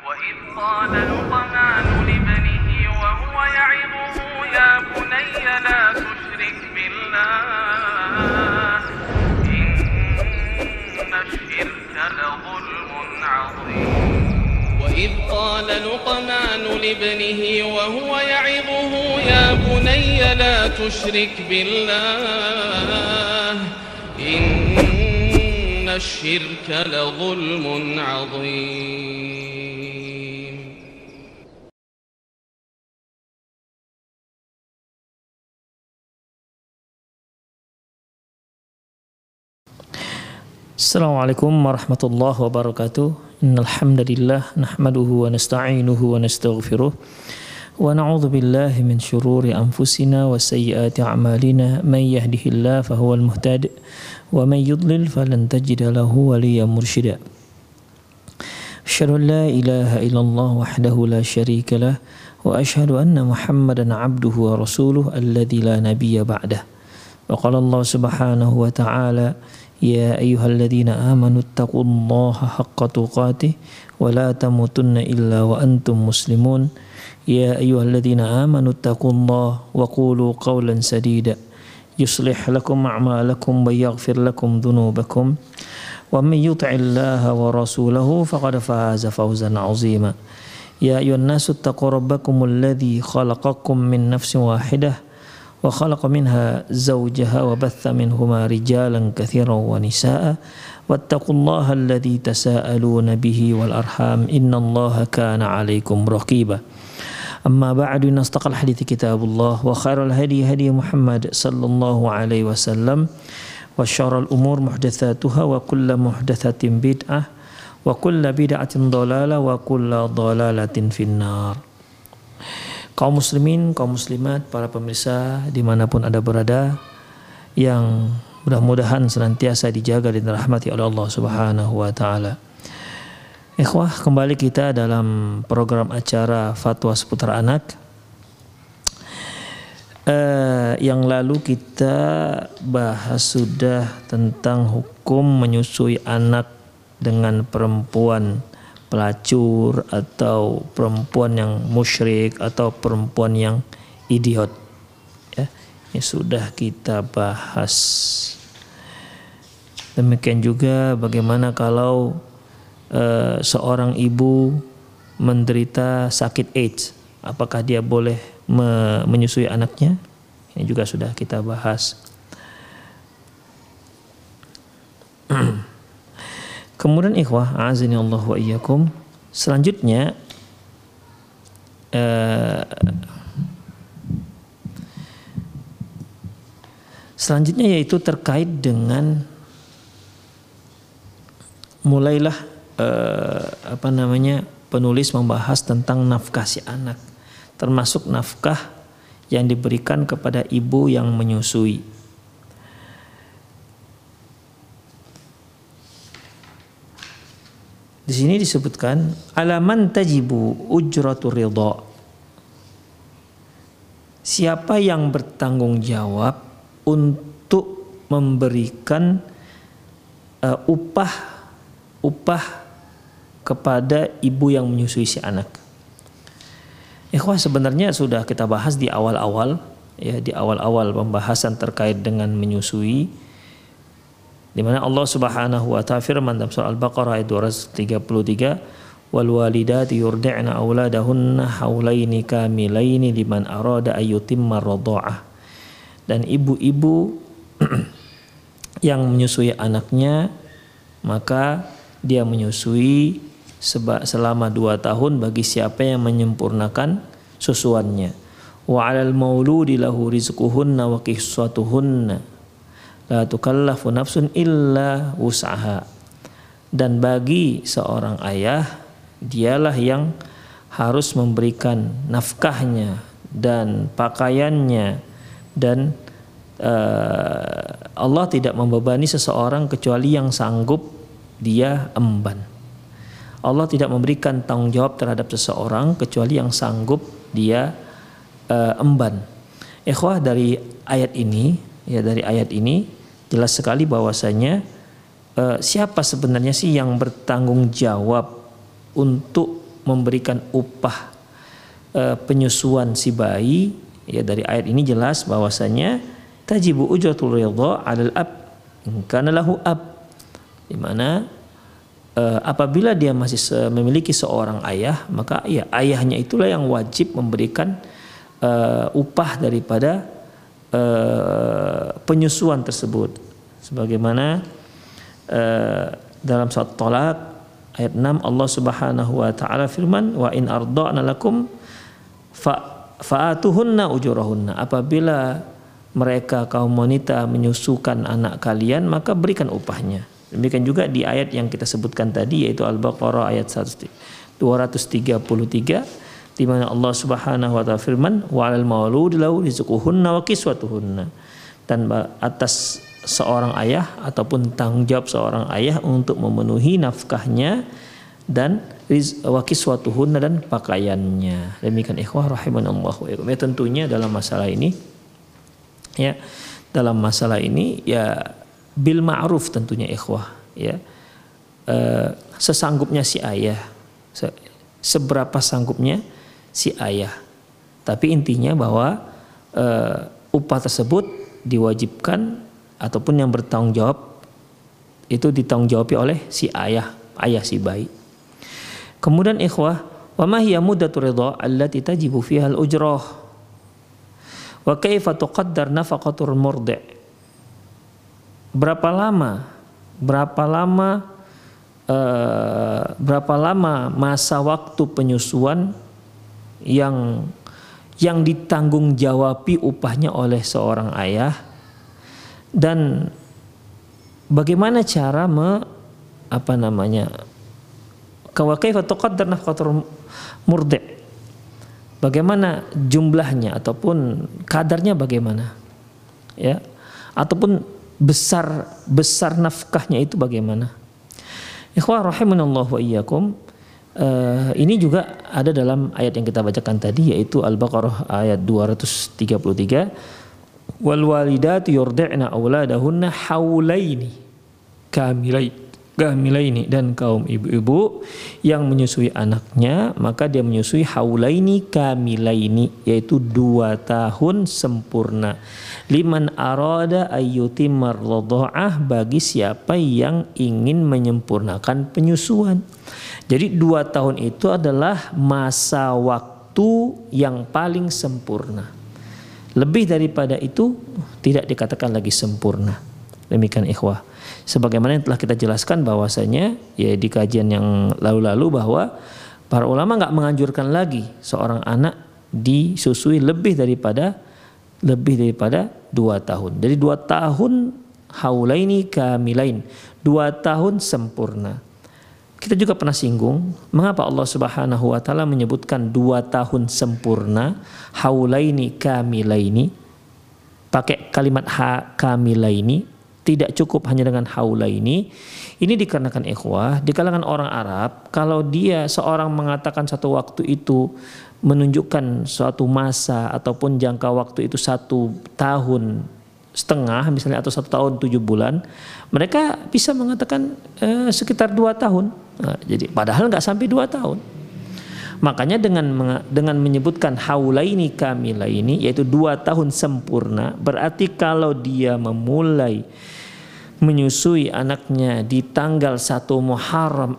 وإذ قال لقمان لابنه وهو يعظه يا بني لا تشرك بالله إن الشرك لظلم عظيم وإذ قال لقمان لابنه وهو يعظه يا بني لا تشرك بالله إن الشرك لظلم عظيم. Assalamualaikum warahmatullahi wabarakatuh. Innal hamdalillah nahmaduhu wa nasta'inuhu wa nastaghfiruh wa na'udzu billahi min syururi anfusina wa sayyiati a'malina may yahdihillahu fahuwal muhtadi wa may yudlil falan tajida lahu waliyyan mursyida. Asyhadu an la ilaha illallah wahdahu la syarika lah wa asyhadu anna Muhammadan 'abduhu wa rasuluhu alladzi la nabiyya ba'dah. Wa qala Allah subhanahu wa ta'ala يا أيها الذين آمنوا اتقوا الله حق تقاته ولا تموتن إلا وأنتم مسلمون يا أيها الذين آمنوا اتقوا الله وقولوا قولا سديدا يصلح لكم أعمالكم ويغفر لكم ذنوبكم ومن يطع الله ورسوله فقد فاز فوزا عظيما يا أيها الناس اتقوا ربكم الذي خلقكم من نفس واحدة وخلق منها زوجها وبث منهما رجالا كثيرا ونساء واتقوا الله الذي تساءلون به والأرحام إن الله كان عليكم رقيبا أما بعد إن أصدق الحديث كتاب الله وخير الهدي هدي محمد صلى الله عليه وسلم وشر الأمور محدثاتها وكل محدثة بدعة وكل بدعة ضلالة وكل ضلالة في النار. Kaum muslimin, kaum muslimat, para pemirsa dimanapun Anda berada, yang mudah-mudahan senantiasa dijaga dan dirahmati oleh Allah Subhanahu wa Ta'ala. Ikhwah, kembali kita dalam program acara Fatwa Seputar Anak. Yang lalu kita bahas sudah tentang hukum menyusui anak dengan perempuan pelacur atau perempuan yang musyrik atau perempuan yang idiot, ya, ini sudah kita bahas. Demikian juga bagaimana kalau seorang ibu menderita sakit AIDS, apakah dia boleh menyusui anaknya? Ini juga sudah kita bahas. Kemudian ikhwah, a'azani Allah wa iyyakum, selanjutnya yaitu terkait dengan mulailah penulis membahas tentang nafkah si anak, termasuk nafkah yang diberikan kepada ibu yang menyusui. Di sini disebutkan alaman tajibu ujratu ridha. Siapa yang bertanggung jawab untuk memberikan upah kepada ibu yang menyusui si anak. Ikhwah, sebenarnya sudah kita bahas di awal-awal, ya, di awal-awal pembahasan terkait dengan menyusui, di mana Allah Subhanahu wa ta'ala firman dalam surah Al-Baqarah ayat 233, wal walidati yurdi'na auladahunna haulaini kamilaini liman arada ayyutimma radha'ah. Dan ibu-ibu yang menyusui anaknya, maka dia menyusui selama 2 tahun bagi siapa yang menyempurnakan susuannya. Wa 'alal mauludi lahu rizquhunna wa kiswatuhunna la tukallafu nafsun illa wus'aha. Dan bagi seorang ayah, dialah yang harus memberikan nafkahnya dan pakaiannya, dan Allah tidak membebani seseorang kecuali yang sanggup dia emban. Allah tidak memberikan tanggung jawab terhadap seseorang kecuali yang sanggup dia emban. Ikhwah, dari ayat ini jelas sekali bahwasanya siapa sebenarnya sih yang bertanggung jawab untuk memberikan upah penyusuan si bayi, ya dari ayat ini jelas bahwasanya tajibu ujratul ridha 'alal ab in kana lahu ab, di mana apabila dia masih memiliki seorang ayah, maka ya ayahnya itulah yang wajib memberikan upah daripada penyusuan tersebut, sebagaimana dalam surat Thalaq ayat 6 Allah Subhanahu wa taala firman, wa in arda'na lakum fa'atuhunna ujurahunna, apabila mereka kaum wanita menyusukan anak kalian maka berikan upahnya. Demikian juga di ayat yang kita sebutkan tadi, yaitu Al-Baqarah ayat 233, di mana Allah Subhanahu wa taala firman, wa 'alal mauludi lahu rizquhunna wa kiswatuhunna, dan atas seorang ayah ataupun tanggung jawab seorang ayah untuk memenuhi nafkahnya dan wa kiswatuhunna dan pakaiannya. Demikian ikhwah rahimanallahu wa iyyakum. Ya tentunya dalam masalah ini ya bil ma'ruf tentunya ikhwah, ya sesanggupnya si ayah, seberapa sanggupnya si ayah, tapi intinya bahwa upah tersebut diwajibkan ataupun yang bertanggung jawab itu ditanggung jawabi oleh si ayah si bayi. Kemudian ikhwah, wa ma hiya muddatur ridha allati tajibu fiha al-ujrah wa kaifa tuqaddar nafaqatul murdi'. Berapa lama masa waktu penyusuan yang ditanggung jawabi upahnya oleh seorang ayah, dan bagaimana cara kaifa tuqaddar nafaqatul murdi', bagaimana jumlahnya ataupun kadarnya bagaimana, ya, ataupun besar nafkahnya itu bagaimana. Ikhwah rahimanallahu wa iyyakum, ini juga ada dalam ayat yang kita bacakan tadi, yaitu Al-Baqarah ayat 233, wal walidatu yurdi'na auladahunna haulaini kamilaini, dan kaum ibu-ibu yang menyusui anaknya maka dia menyusui haulaini kamilaini, yaitu 2 tahun sempurna. Liman arada ayyutimar radha'ah, bagi siapa yang ingin menyempurnakan penyusuan. Jadi 2 tahun itu adalah masa waktu yang paling sempurna. Lebih daripada itu tidak dikatakan lagi sempurna. Demikian ikhwah. Sebagaimana yang telah kita jelaskan bahwasanya ya di kajian yang lalu-lalu, bahwa para ulama nggak menganjurkan lagi seorang anak disusui lebih daripada 2 tahun. Jadi 2 tahun haulaini kamilain, 2 tahun sempurna. Kita juga pernah singgung mengapa Allah Subhanahu wa taala menyebutkan 2 tahun sempurna, haulaini kamilaini, pakai kalimat kamilaini, tidak cukup hanya dengan haulaini. Ini dikarenakan ikhwah, di kalangan orang Arab, kalau dia seorang mengatakan satu waktu itu menunjukkan suatu masa ataupun jangka waktu itu 1 tahun setengah misalnya, atau 1 tahun 7 bulan, mereka bisa mengatakan sekitar 2 tahun. Nah, jadi padahal nggak sampai 2 tahun. Makanya dengan menyebutkan haulaini kamilaini, yaitu 2 tahun sempurna, berarti kalau dia memulai menyusui anaknya di tanggal 1 Muharram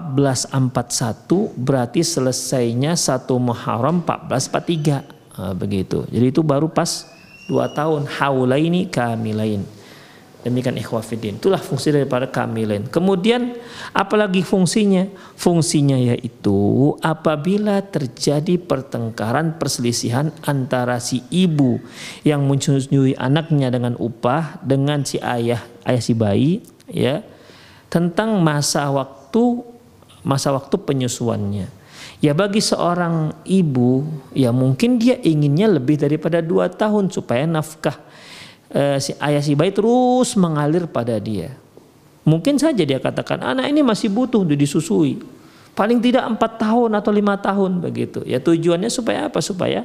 1441, berarti selesainya 1 Muharram 1443. Nah, begitu. Jadi itu baru pas 2 tahun haulaini kamilain. Demikian ikhwah fiddin. Itulah fungsi daripada kamilain. Kemudian apalagi fungsinya? Fungsinya yaitu apabila terjadi pertengkaran, perselisihan antara si ibu yang menyusui anaknya dengan upah dengan si ayah si bayi, ya, tentang masa waktu penyusuannya. Ya bagi seorang ibu, ya mungkin dia inginnya lebih daripada 2 tahun supaya nafkah si ayah si bayi terus mengalir pada dia. Mungkin saja dia katakan anak ini masih butuh untuk disusui, paling tidak 4 tahun atau 5 tahun begitu. Ya tujuannya supaya apa? Supaya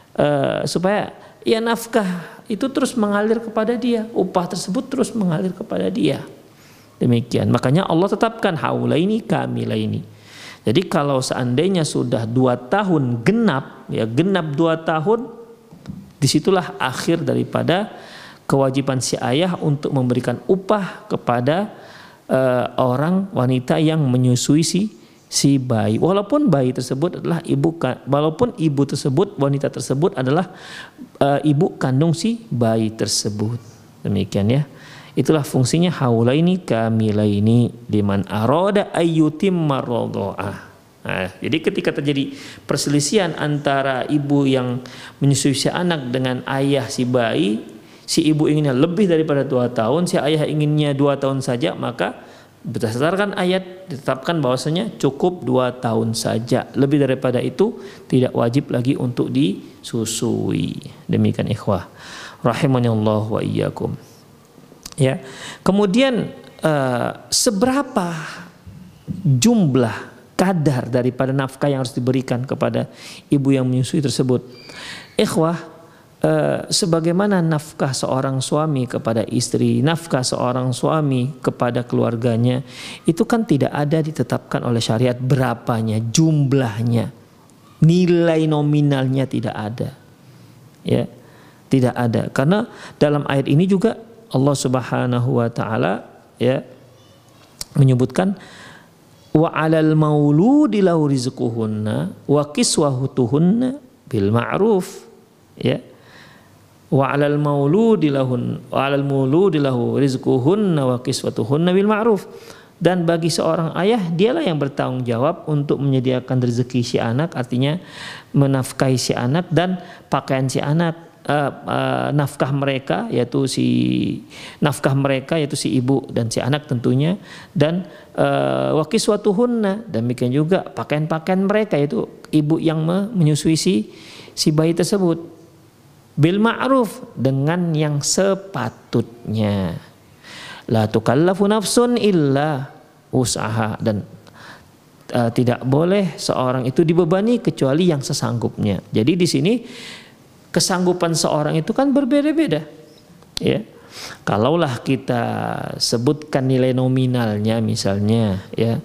ya nafkah itu terus mengalir kepada dia, upah tersebut terus mengalir kepada dia. Demikian. Makanya Allah tetapkan haulaini kamilaini. Jadi kalau seandainya sudah 2 tahun genap, ya genap 2 tahun, disitulah akhir daripada kewajiban si ayah untuk memberikan upah kepada orang wanita yang menyusui si bayi. Walaupun bayi tersebut adalah walaupun ibu tersebut, wanita tersebut adalah ibu kandung si bayi tersebut. Demikian ya. Itulah fungsinya haulaini kamilaini liman arada ayyutimma radha'ah. Nah, jadi ketika terjadi perselisihan antara ibu yang menyusui si anak dengan ayah si bayi, si ibu inginnya lebih daripada 2 tahun, si ayah inginnya 2 tahun saja, maka berdasarkan ayat ditetapkan bahwasanya cukup 2 tahun saja. Lebih daripada itu tidak wajib lagi untuk disusui. Demikian ikhwah rahimahullah wa iyyakum. Ya. Kemudian seberapa jumlah kadar daripada nafkah yang harus diberikan kepada ibu yang menyusui tersebut? Ikhwah, sebagaimana nafkah seorang suami kepada istri, nafkah seorang suami kepada keluarganya, itu kan tidak ada ditetapkan oleh syariat berapanya, jumlahnya, nilai nominalnya tidak ada. Ya, tidak ada. Karena dalam ayat ini juga Allah Subhanahu wa taala ya menyebutkan wa 'alal mauludi lahu rizquhunna wa kiswahutuhunna bil ma'ruf, ya. Wa 'alal mauludi lahu rizquhunna wa kiswatuhunna bil ma'ruf. Dan bagi seorang ayah, dialah yang bertanggung jawab untuk menyediakan rezeki si anak, artinya menafkahi si anak dan pakaian si anak. Nafkah mereka yaitu si ibu dan si anak tentunya, dan wa kiswatuhunna, demikian juga pakaian-pakaian mereka yaitu ibu yang menyusui si bayi tersebut bil ma'ruf, dengan yang sepatutnya. La tukallafu nafsun illa usaha, dan tidak boleh seorang itu dibebani kecuali yang sesanggupnya. Jadi di sini kesanggupan seorang itu kan berbeda-beda, ya. Kalaulah kita sebutkan nilai nominalnya, misalnya, ya,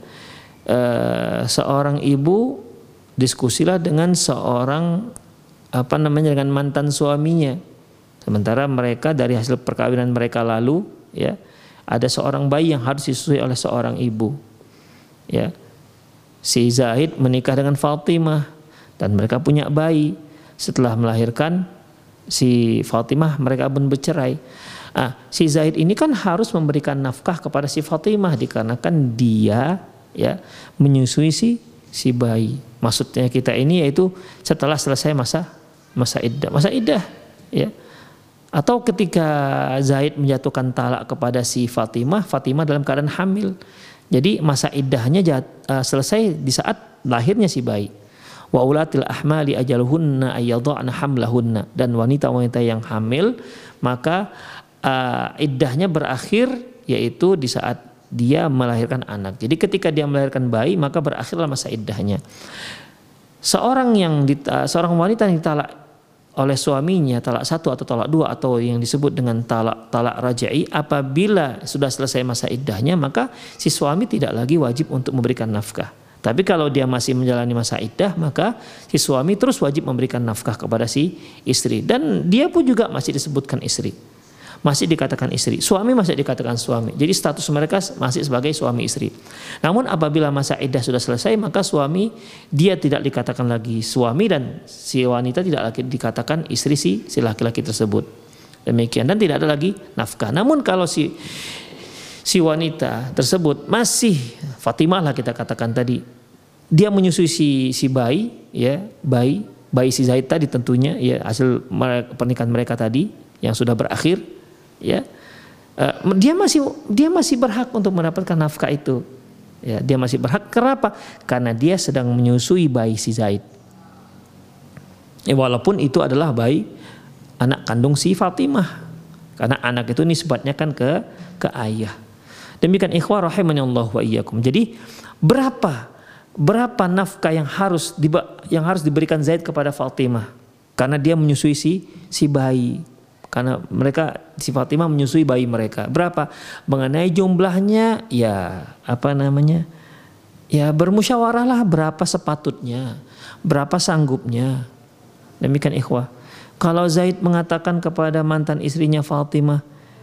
seorang ibu diskusilah dengan seorang dengan mantan suaminya, sementara mereka dari hasil perkawinan mereka lalu, ya, ada seorang bayi yang harus disusui oleh seorang ibu, ya. Si Zaid menikah dengan Fatimah dan mereka punya bayi. Setelah melahirkan si Fatimah, mereka pun bercerai. Si Zaid ini kan harus memberikan nafkah kepada si Fatimah dikarenakan dia, ya, menyusui si bayi. Maksudnya kita ini yaitu setelah selesai masa iddah, ya. Atau ketika Zaid menjatuhkan talak kepada si Fatimah dalam keadaan hamil. Jadi masa iddahnya selesai di saat lahirnya si bayi. Wa ulatil ahmali ajaluhunna ayyadha'na hamlahunna, dan wanita-wanita yang hamil maka iddahnya berakhir yaitu di saat dia melahirkan anak. Jadi ketika dia melahirkan bayi maka berakhirlah masa iddahnya. Seorang wanita yang ditalak oleh suaminya, talak 1 atau talak 2 atau yang disebut dengan talak raj'i, apabila sudah selesai masa iddahnya maka si suami tidak lagi wajib untuk memberikan nafkah. Tapi kalau dia masih menjalani masa iddah, maka si suami terus wajib memberikan nafkah kepada si istri. Dan dia pun juga masih disebutkan istri. Masih dikatakan istri. Suami masih dikatakan suami. Jadi status mereka masih sebagai suami istri. Namun apabila masa iddah sudah selesai, maka suami dia tidak dikatakan lagi suami dan si wanita tidak lagi dikatakan istri si laki-laki tersebut. Demikian, dan tidak ada lagi nafkah. Namun kalau si wanita tersebut masih Fatimah lah kita katakan tadi, dia menyusui si bayi, ya, bayi si Zaid tadi tentunya, ya, hasil pernikahan mereka tadi yang sudah berakhir, ya, dia masih berhak untuk mendapatkan nafkah itu, ya, dia masih berhak. Kenapa? Karena dia sedang menyusui bayi si Zaid, ya, walaupun itu adalah bayi anak kandung si Fatimah, karena anak itu nisbatnya kan ke ayah. Demikian ikhwah rahimahullah wa iyyakum. Jadi berapa nafkah yang harus diberikan Zaid kepada Fatimah karena dia menyusui si bayi, karena si Fatimah menyusui bayi mereka. Berapa? Mengenai jumlahnya, ya, ya bermusyawarahlah berapa sepatutnya, berapa sanggupnya. Demikian ikhwah. Kalau Zaid mengatakan kepada mantan istrinya Fatimah,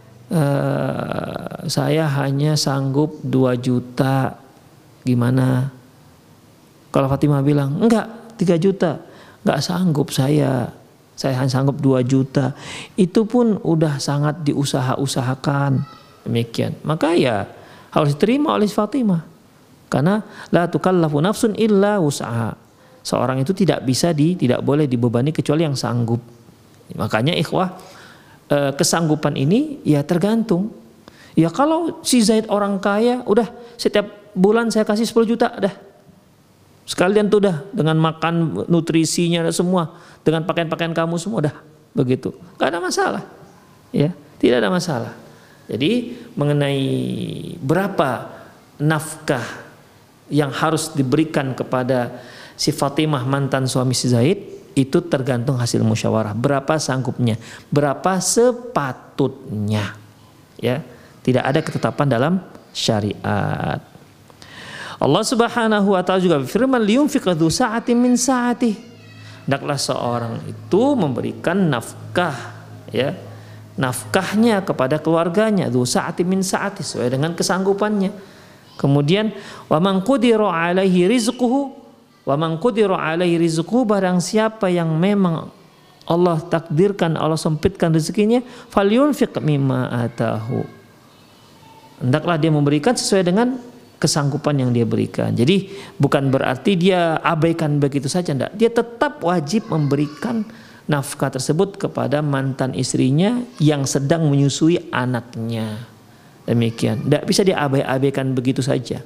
saya hanya sanggup 2 juta, gimana? Kalau Fatimah bilang, enggak 3 juta, enggak sanggup saya hanya sanggup 2 juta. Itu pun udah sangat diusaha-usahakan. Demikian. Maka ya harus diterima oleh Fatimah. Karena la tukallafu nafsun illa wus'aha. Seorang itu tidak boleh dibebani kecuali yang sanggup. Makanya ikhwah, kesanggupan ini ya tergantung. Ya kalau si Zaid orang kaya, udah setiap bulan saya kasih 10 juta dah. Sekalian tuh dah dengan makan nutrisinya semua, dengan pakaian-pakaian kamu semua dah begitu. Gak ada masalah. Ya, tidak ada masalah. Jadi mengenai berapa nafkah yang harus diberikan kepada si Fatimah mantan suami si Zaid, itu tergantung hasil musyawarah. Berapa sanggupnya, berapa sepatutnya. Ya, tidak ada ketetapan dalam syariat. Allah Subhanahu wa taala juga berfirman, liyunfiq dzu sa'atin min sa'atih. Hendaklah seorang itu memberikan nafkah, ya, nafkahnya kepada keluarganya, dzu sa'atin min sa'atih, sesuai dengan kesanggupannya. Kemudian wa man qudira 'alaihi rizquhu, wa man qudira 'alaihi rizquhu, barang siapa yang memang Allah takdirkan, Allah sempitkan rezekinya, falyunfiq mimma atahu. Hendaklah dia memberikan sesuai dengan kesanggupan yang dia berikan. Jadi bukan berarti dia abaikan begitu saja, enggak. Dia tetap wajib memberikan nafkah tersebut kepada mantan istrinya yang sedang menyusui anaknya. Demikian. Enggak bisa dia abaikan begitu saja.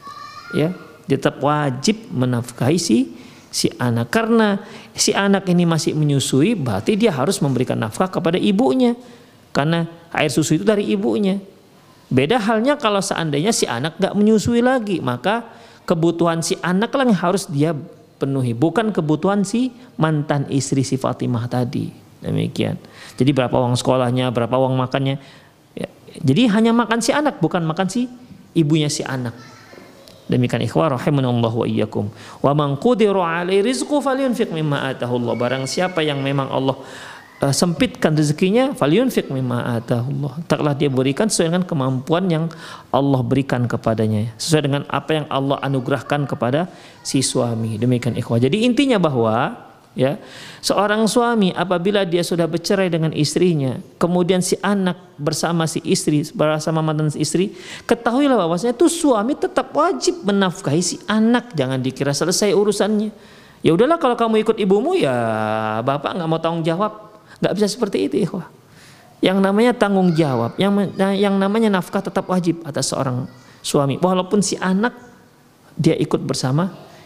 Ya, dia tetap wajib menafkahi si anak, karena si anak ini masih menyusui, berarti dia harus memberikan nafkah kepada ibunya, karena air susu itu dari ibunya. Beda halnya kalau seandainya si anak gak menyusui lagi, maka kebutuhan si anak lah yang harus dia penuhi, bukan kebutuhan si mantan istri si Fatimah tadi. Demikian. Jadi berapa uang sekolahnya, berapa uang makannya, ya, jadi hanya makan si anak, bukan makan si ibunya si anak. Demikian ikhwah rahimanallahu wa iyyakum. Wa man qudira 'alaihi rizquhu falyunfiq mimma atahu Allah. Barang siapa yang memang Allah sempitkan rezekinya, falyunfiq mimma atahu Allah. Taklah dia berikan sesuai dengan kemampuan yang Allah berikan kepadanya, sesuai dengan apa yang Allah anugerahkan kepada si suami. Demikian ikhwah. Jadi intinya bahwa ya, seorang suami apabila dia sudah bercerai dengan istrinya, kemudian si anak bersama si istri, bersama mantan istri, ketahuilah bahwasanya itu suami tetap wajib menafkahi si anak. Jangan dikira selesai urusannya. Ya udahlah, kalau kamu ikut ibumu, ya bapak nggak mau tanggung jawab. Nggak bisa seperti itu ikhwah. Yang namanya tanggung jawab, yang namanya nafkah tetap wajib atas seorang suami, walaupun si anak dia ikut bersama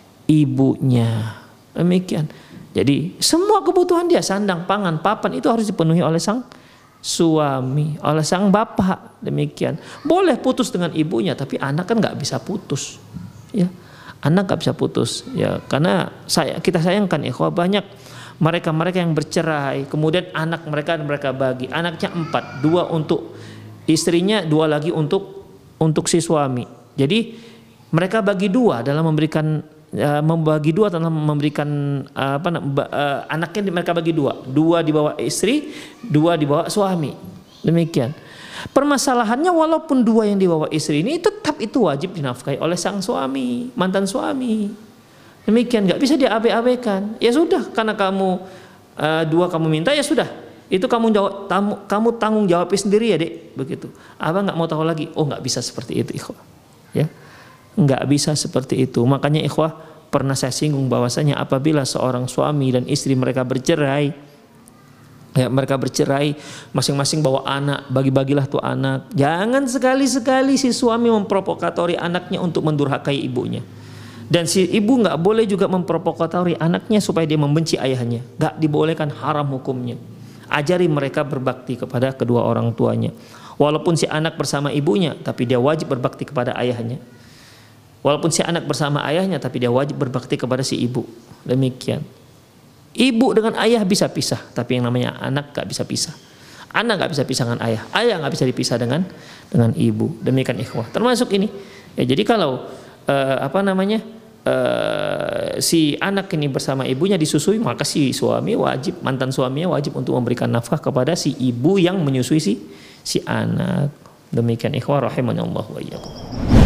ibunya. Demikian. Jadi semua kebutuhan dia, sandang, pangan, papan, itu harus dipenuhi oleh sang suami, oleh sang bapak. Demikian. Boleh putus dengan ibunya, tapi anak kan nggak bisa putus. Ya, anak nggak bisa putus. Ya, karena kita sayangkan ikhwah, banyak mereka yang bercerai, kemudian anak mereka bagi, anaknya 4, 2 untuk istrinya, 2 lagi untuk si suami. Jadi mereka bagi 2 dalam memberikan anaknya, mereka bagi 2 dibawa istri, 2 dibawa suami. Demikian. Permasalahannya, walaupun 2 yang dibawa istri ini tetap itu wajib dinafkahi oleh sang suami, mantan suami. Demikian, nggak bisa diabaikan. Ya sudah, karena kamu 2 kamu minta, ya sudah. Itu kamu tanggung jawab sendiri ya dek, begitu. Abang nggak mau tahu lagi. Oh, nggak bisa seperti itu ikhwah. Ya, nggak bisa seperti itu. Makanya ikhwah, pernah saya singgung bahwasanya apabila seorang suami dan istri mereka bercerai, ya mereka bercerai, masing-masing bawa anak, bagi-bagilah tuh anak. Jangan sekali-sekali si suami memprovokatori anaknya untuk mendurhakai ibunya. Dan si ibu nggak boleh juga memprovokatori anaknya supaya dia membenci ayahnya. Nggak dibolehkan, haram hukumnya. Ajari mereka berbakti kepada kedua orang tuanya. Walaupun si anak bersama ibunya, tapi dia wajib berbakti kepada ayahnya. Walaupun si anak bersama ayahnya, tapi dia wajib berbakti kepada si ibu. Demikian. Ibu dengan ayah bisa pisah, tapi yang namanya anak nggak bisa pisah. Anak nggak bisa pisah dengan ayah nggak bisa dipisah dengan ibu. Demikian ikhwah. Termasuk ini. Ya, jadi kalau si anak ini bersama ibunya disusui, maka si suami wajib, mantan suaminya wajib untuk memberikan nafkah kepada si ibu yang menyusui si anak. Demikian ikhwah rahimanallahu wa iyyakum.